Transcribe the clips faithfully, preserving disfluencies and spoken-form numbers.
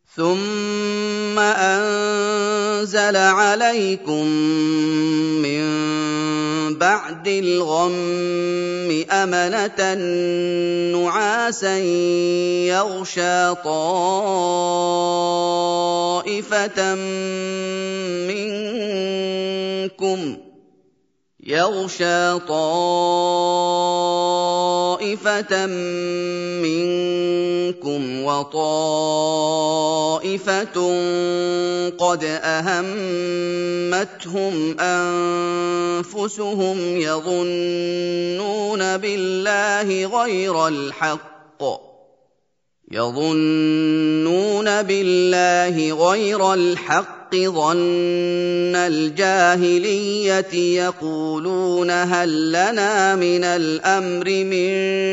ثم أنزل عليكم من بعد الغم أمنة نعاسا يغشى طائفة منكم يغشى طائفة منكم وطائفة قد أهمتهم أنفسهم يظنون بالله غير الحق يظنون بالله غير الحق ظن الجاهلية يقولون هل لنا من الأمر من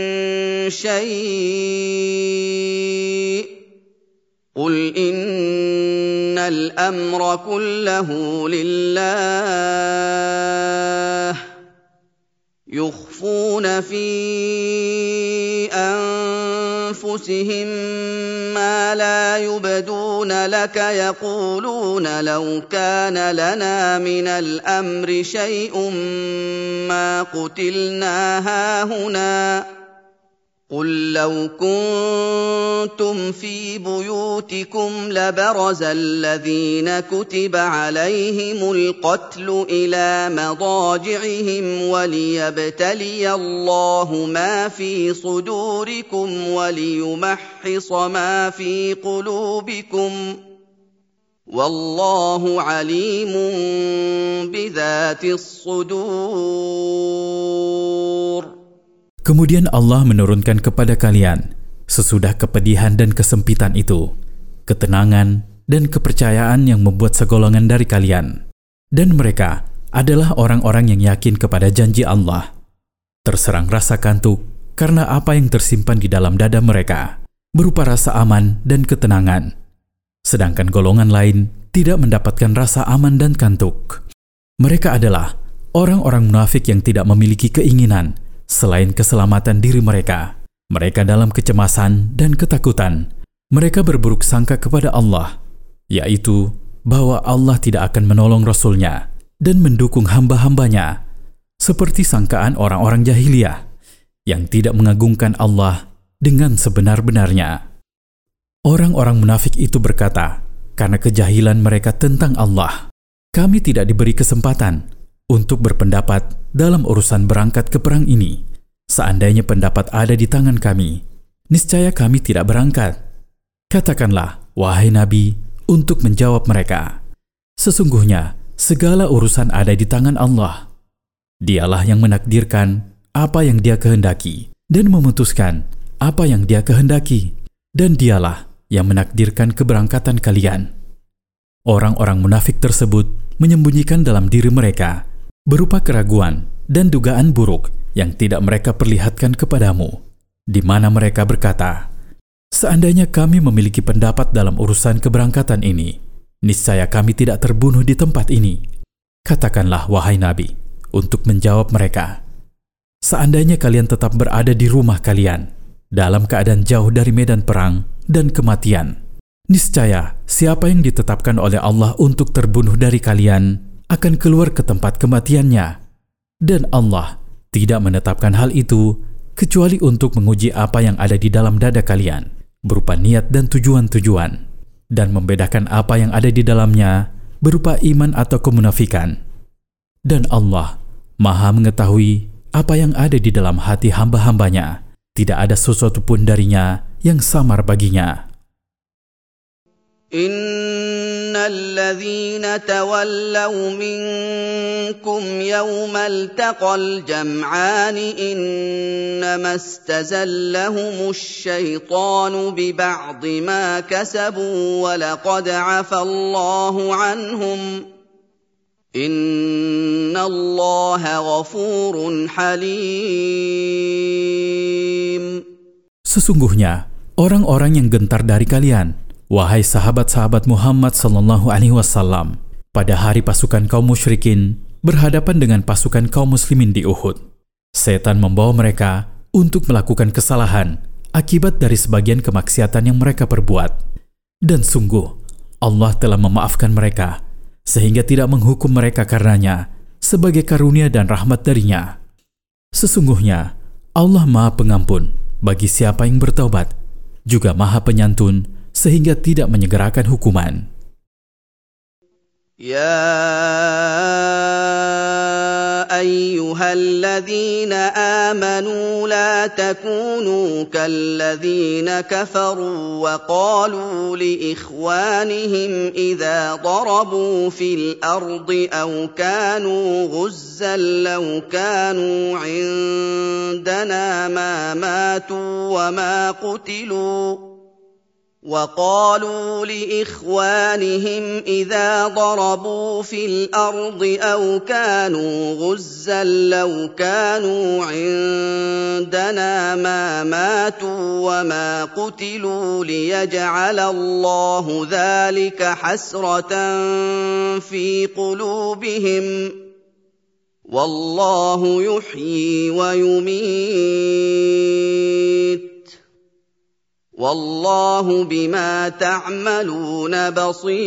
شيء قل إن الأمر كله لله يخفون في أنفسهم ما لا يبدون لك يقولون لو كان لنا من الأمر شيء ما قتلنا هاهنا قل لو كنتم في بيوتكم لبرز الذين كتب عليهم القتل إلى مضاجعهم وليبتلي الله ما في صدوركم وليمحص ما في قلوبكم والله عليم بذات الصدور. Kemudian Allah menurunkan kepada kalian, sesudah kepedihan dan kesempitan itu, ketenangan dan kepercayaan yang membuat segolongan dari kalian. Dan mereka adalah orang-orang yang yakin kepada janji Allah. Terserang rasa kantuk karena apa yang tersimpan di dalam dada mereka, berupa rasa aman dan ketenangan. Sedangkan golongan lain tidak mendapatkan rasa aman dan kantuk. Mereka adalah orang-orang munafik yang tidak memiliki keinginan selain keselamatan diri mereka. Mereka dalam kecemasan dan ketakutan. Mereka berburuk sangka kepada Allah, yaitu bahwa Allah tidak akan menolong Rasul-Nya dan mendukung hamba-hambanya, seperti sangkaan orang-orang jahiliyah yang tidak mengagungkan Allah dengan sebenar-benarnya. Orang-orang munafik itu berkata, karena kejahilan mereka tentang Allah, kami tidak diberi kesempatan untuk berpendapat dalam urusan berangkat ke perang ini. Seandainya pendapat ada di tangan kami, niscaya kami tidak berangkat. Katakanlah, wahai Nabi, untuk menjawab mereka, sesungguhnya segala urusan ada di tangan Allah. Dialah yang menakdirkan apa yang Dia kehendaki dan memutuskan apa yang Dia kehendaki, dan Dialah yang menakdirkan keberangkatan kalian. Orang-orang munafik tersebut menyembunyikan dalam diri mereka berupa keraguan dan dugaan buruk yang tidak mereka perlihatkan kepadamu, di mana mereka berkata, seandainya kami memiliki pendapat dalam urusan keberangkatan ini, niscaya kami tidak terbunuh di tempat ini. Katakanlah, wahai Nabi, untuk menjawab mereka, seandainya kalian tetap berada di rumah kalian, dalam keadaan jauh dari medan perang dan kematian, niscaya siapa yang ditetapkan oleh Allah untuk terbunuh dari kalian akan keluar ke tempat kematiannya, dan Allah tidak menetapkan hal itu kecuali untuk menguji apa yang ada di dalam dada kalian berupa niat dan tujuan-tujuan, dan membedakan apa yang ada di dalamnya berupa iman atau kemunafikan. Dan Allah Maha mengetahui apa yang ada di dalam hati hamba-hambanya, tidak ada sesuatu pun darinya yang samar baginya. إن الذين تولوا منكم يوم التقى الجمعان إنما استزلهم الشيطان ببعض ما كسبوا ولقد عفى الله عنهم إن الله غفور حليم. Sesungguhnya orang-orang yang gentar dari kalian, wahai sahabat-sahabat Muhammad sallallahu alaihi wasallam, pada hari pasukan kaum musyrikin berhadapan dengan pasukan kaum muslimin di Uhud, setan membawa mereka untuk melakukan kesalahan akibat dari sebagian kemaksiatan yang mereka perbuat. Dan sungguh, Allah telah memaafkan mereka, sehingga tidak menghukum mereka karenanya sebagai karunia dan rahmat darinya. Sesungguhnya, Allah Maha Pengampun bagi siapa yang bertaubat, juga Maha Penyantun sehingga tidak menyegerakan hukuman. Ya ayyuhalladzina amanu la takunu kalladzina kafaru wa qalu li ikhwanihim idza darabu fil ardi aw kanu ghuzzan law kanu indana ma matu wa ma qutilu وقالوا لإخوانهم إذا ضربوا في الأرض أو كانوا غزا لو كانوا عندنا ما ماتوا وما قتلوا ليجعل الله ذلك حسرة في قلوبهم والله يحيي ويميت Wallahu bima ta'maluna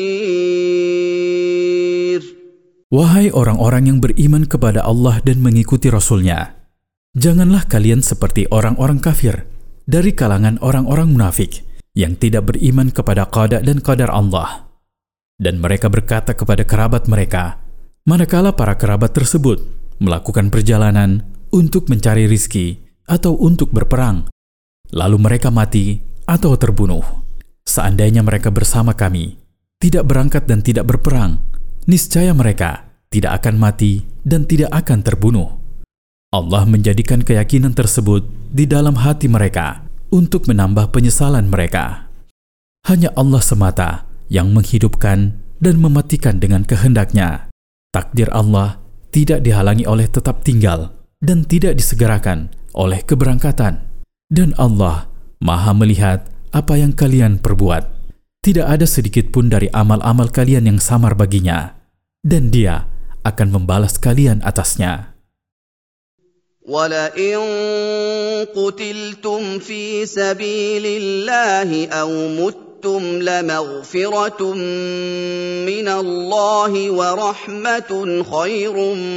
basir. Wahai orang-orang yang beriman kepada Allah dan mengikuti Rasul-Nya, janganlah kalian seperti orang-orang kafir dari kalangan orang-orang munafik yang tidak beriman kepada qada dan qadar Allah. Dan mereka berkata kepada kerabat mereka, manakala para kerabat tersebut melakukan perjalanan untuk mencari rizki atau untuk berperang, lalu mereka mati atau terbunuh. Seandainya mereka bersama kami, tidak berangkat dan tidak berperang, niscaya mereka tidak akan mati dan tidak akan terbunuh. Allah menjadikan keyakinan tersebut di dalam hati mereka untuk menambah penyesalan mereka. Hanya Allah semata yang menghidupkan dan mematikan dengan kehendaknya. Takdir Allah tidak dihalangi oleh tetap tinggal dan tidak disegerakan oleh keberangkatan. Dan Allah Maha melihat apa yang kalian perbuat. Tidak ada sedikit pun dari amal-amal kalian yang samar baginya, dan Dia akan membalas kalian atasnya. وَلَئِن قُتِلْتُمْ فِي سَبِيلِ اللَّهِ أَوْ مُتُّمْ لَمَغْفِرَةٌ مِّنَ اللَّهِ وَرَحْمَةٌ خَيْرٌ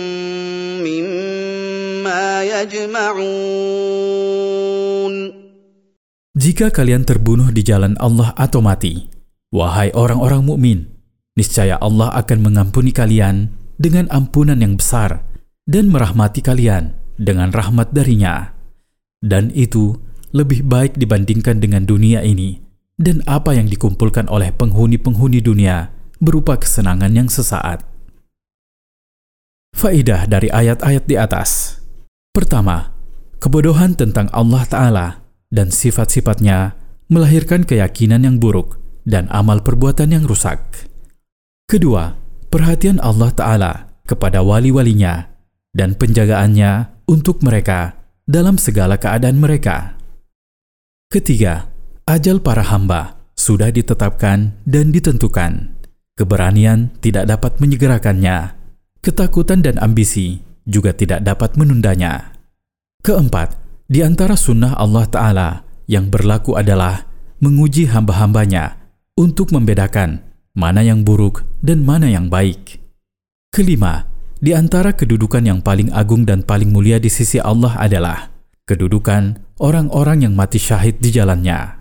مِّمَّا يَجْمَعُونَ. Jika kalian terbunuh di jalan Allah atau mati, wahai orang-orang mukmin, niscaya Allah akan mengampuni kalian dengan ampunan yang besar dan merahmati kalian dengan rahmat darinya. Dan itu lebih baik dibandingkan dengan dunia ini dan apa yang dikumpulkan oleh penghuni-penghuni dunia berupa kesenangan yang sesaat. Faedah dari ayat-ayat di atas. Pertama, kebodohan tentang Allah Ta'ala dan sifat-sifatnya melahirkan keyakinan yang buruk dan amal perbuatan yang rusak. Kedua, perhatian Allah Ta'ala kepada wali-walinya dan penjagaannya untuk mereka dalam segala keadaan mereka. Ketiga, ajal para hamba sudah ditetapkan dan ditentukan. Keberanian tidak dapat menyegerakannya. Ketakutan dan ambisi juga tidak dapat menundanya. Keempat, di antara sunnah Allah Ta'ala yang berlaku adalah menguji hamba-hambanya untuk membedakan mana yang buruk dan mana yang baik. Kelima, di antara kedudukan yang paling agung dan paling mulia di sisi Allah adalah kedudukan orang-orang yang mati syahid di jalannya.